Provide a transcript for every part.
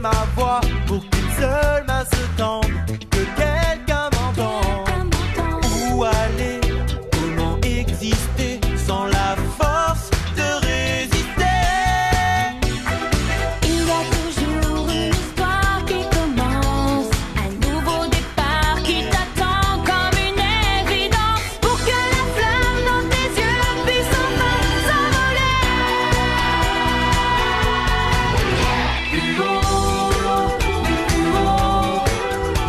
ma voix pour qu'une seule main se tende, que quelqu'un m'entende. Où aller, comment exister sans la force de résister? Il y a toujours une histoire qui commence, un nouveau départ qui t'attend comme une évidence, pour que la flamme dans tes yeux puisse enfin s'envoler. Plus haut, plus haut,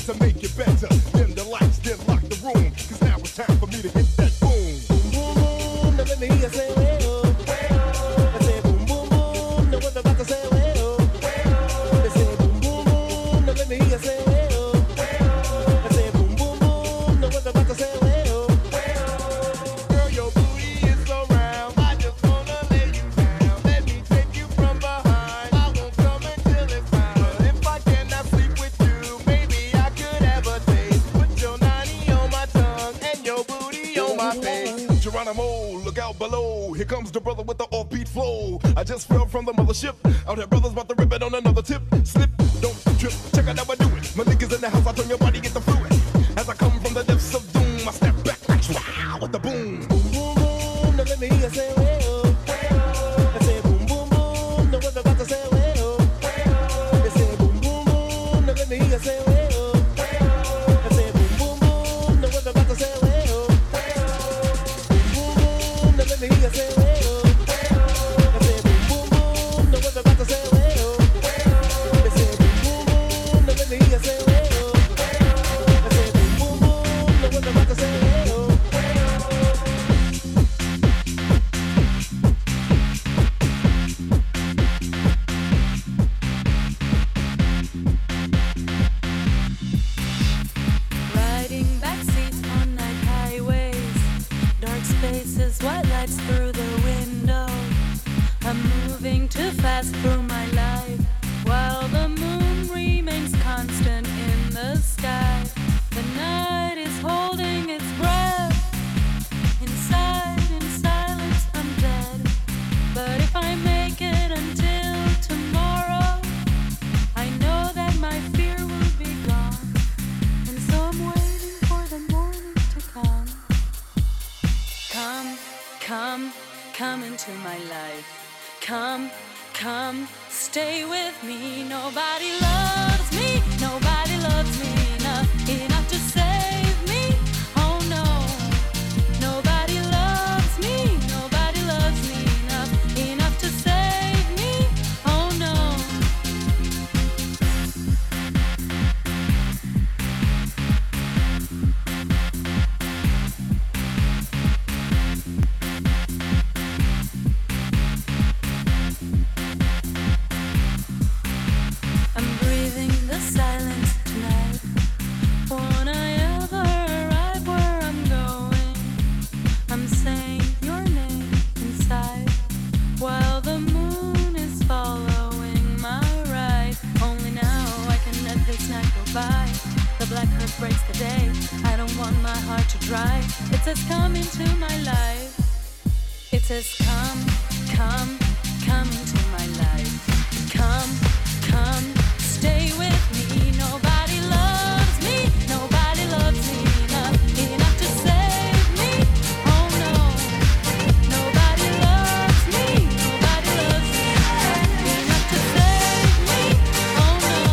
to make it better. Dim the lights, then lock the room. Cause now it's time for me to hit that boom. Boom, boom, boom. Now let me hear you say, well. I say boom, boom, boom. Now what about to say, well. They say boom, boom, boom. Now let me hear you say, well. I say boom, boom, boom. Now what about to say, well. Girl, your booty is so round. I just wanna lay you down. Let me take you from behind. I won't come until it's time. But if I cannot sleep with you, maybe I could have a taste. Put your 90 on my tongue and your booty on my face. Geronimo, look out below. Here comes the brother with the offbeat flow. I just fell from the mothership. Out here, brothers about to rip it on another tip. Slip, don't trip. Check out how I do it. My niggas in the house, I turn your body, get the fluid. As I come from the depths of doom, I step back like wow with the boom. Boom, boom, boom. Now let me hear you say, well. I say boom, boom, boom. Now what about to say, well. They say boom, boom, boom. Now let me hear you say, well. I say boom, boom, boom. Now what about to say, well. Boom, boom, boom. Now let me hear you say, well. I say boom, boom, boom. Now what about to say, well. They say boom, boom, boom. Now let me hear you say, well. I say boom, boom, boom. Now what about to say, well. Riding backseats on night highways, dark spaces, white lights through the window. I'm moving too fast through my life, while the moon remains constant in the sky. The night is holding its breath. Inside, in silence, I'm dead. But if I make it until tomorrow, I know that my fear will be gone. And so I'm waiting for the morning to come. Come into my life. Come, stay with me. Nobody loves me enough to save me. Oh no, nobody loves me enough to save me. Oh no. I'm breathing the silence tonight. Won't I ever arrive where I'm going? I'm saying your name inside, while the moon is following my ride. Only now I can let this night go by. The black earth breaks the day. I don't want my heart to dry. It says come into my life. It says come into my life. Come, stay with me. Nobody loves me enough to save me. Oh no, nobody loves me enough to save me. Oh no.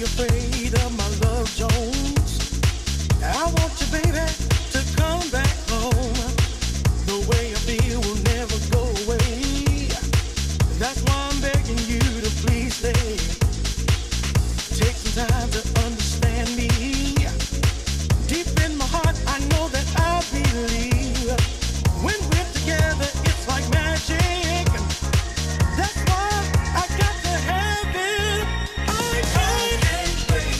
afraid of my love, Jones. I want you, baby, to come back home. The way I feel will never go away. That's why I'm begging you to please stay. Take some time to understand me. Deep in my heart, I know that I believe. When we're together, it's like magic. That's why I got to have it. I can't wait.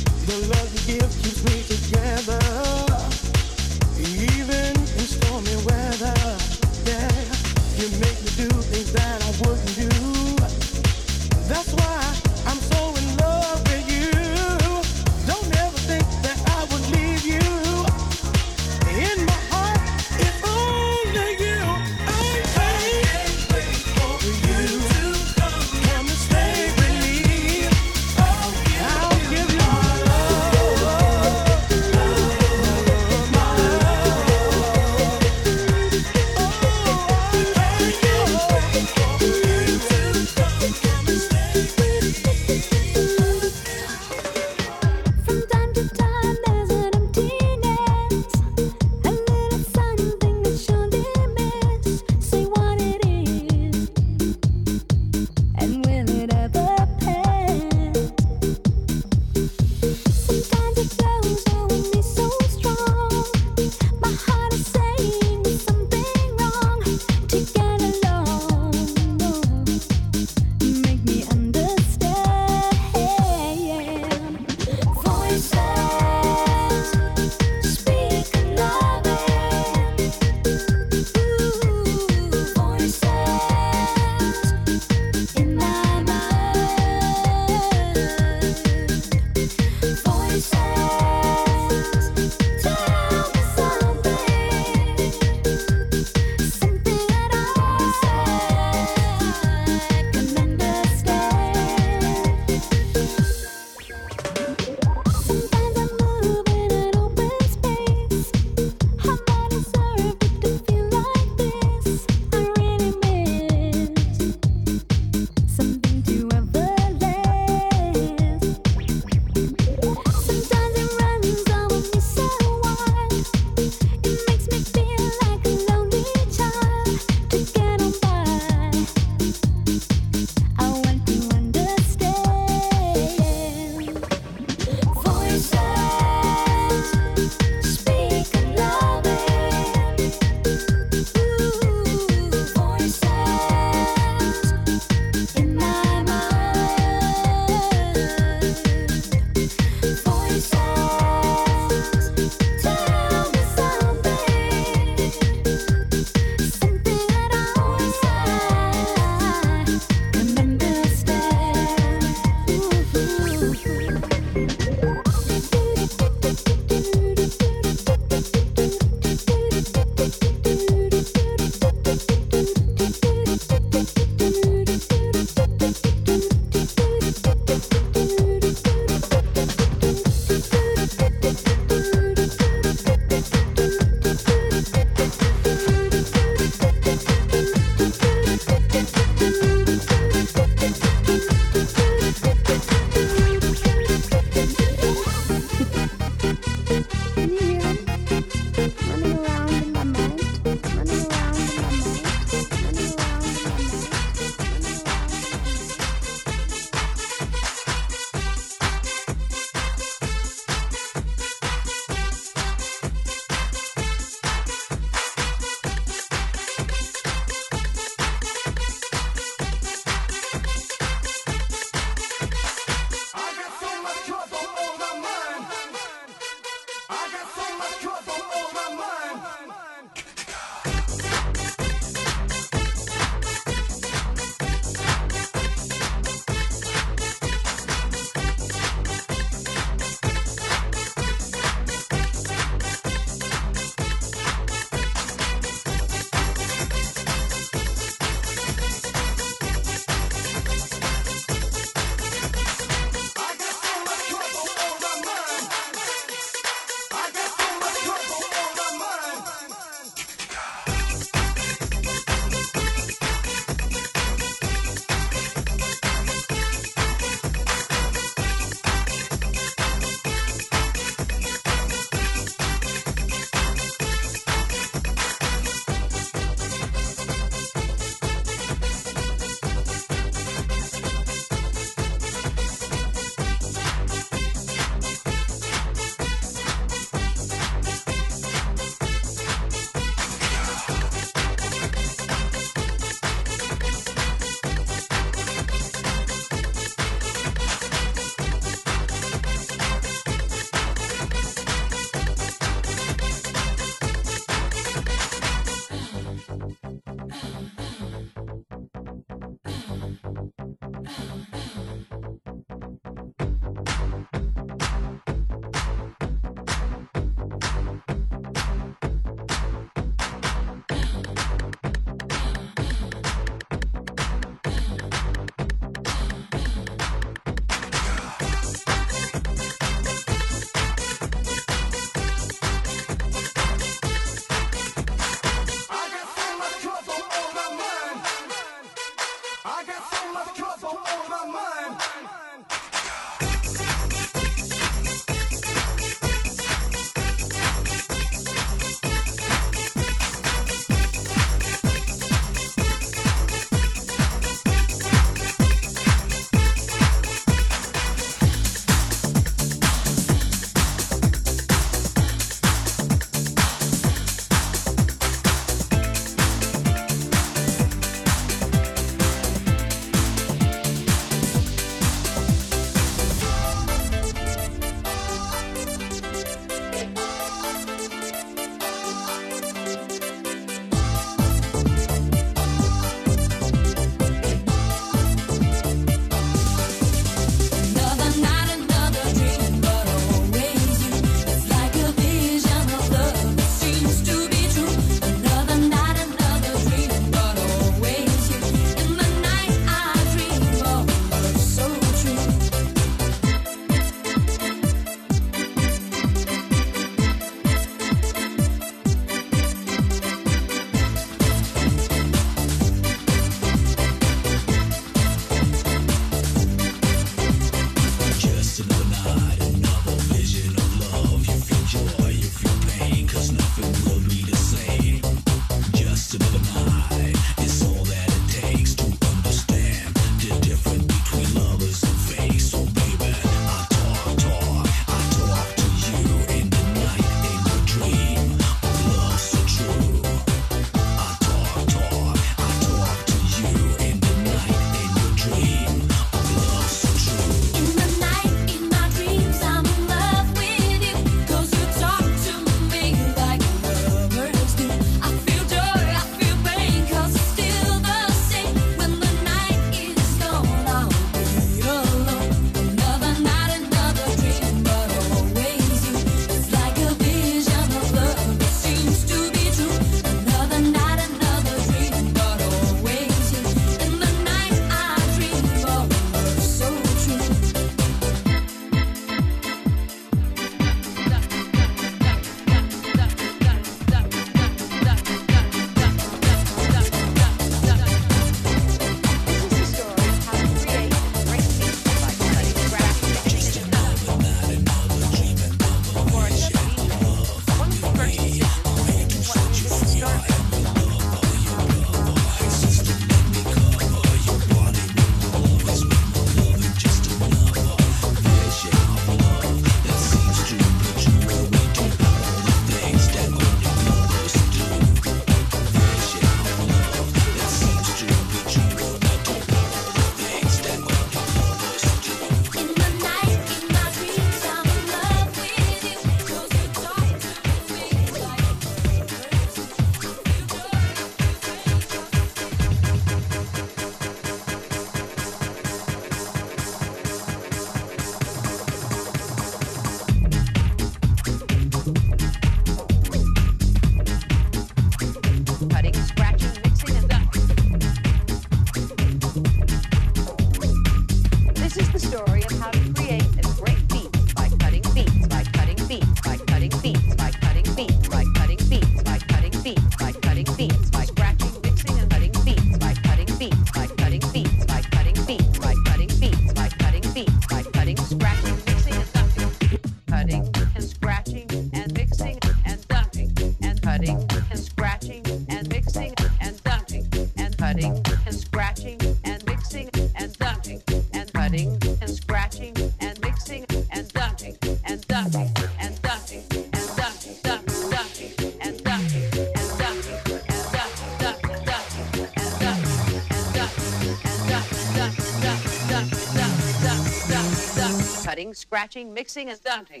ducking and ducking and ducking, duck, ducking and ducking and ducking and duck, duck, ducking and ducking and ducking and duck, duck, duck, duck, duck, duck, duck, duck, cutting, scratching, mixing and ducking.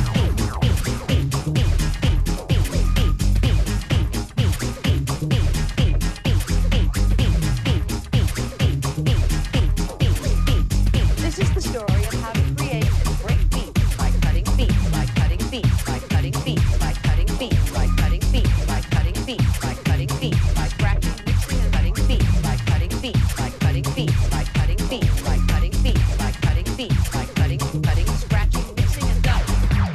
This is the story of how to create great beats by cutting beats, by cutting beats, by cutting beats, by cutting beats, by cutting beats, by cutting beats, by cutting beats, by scratching, mixing and cutting beats, by cutting beats, by cutting beats, by cutting beats, by cutting beats, by cutting beats, by cutting, scratching, mixing and ducking.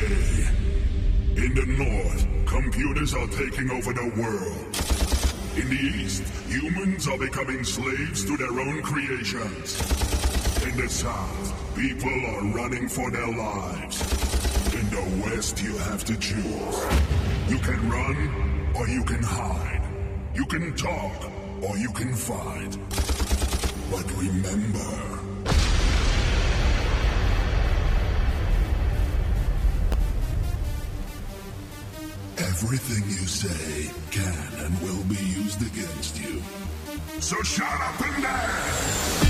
In the north, computers are taking over the world. In the east, humans are becoming slaves to their own creations. In the south, people are running for their lives. In the west, you have to choose. You can run or you can hide. You can talk or you can fight. But remember, everything you say can and will be used against you. So shut up and dance!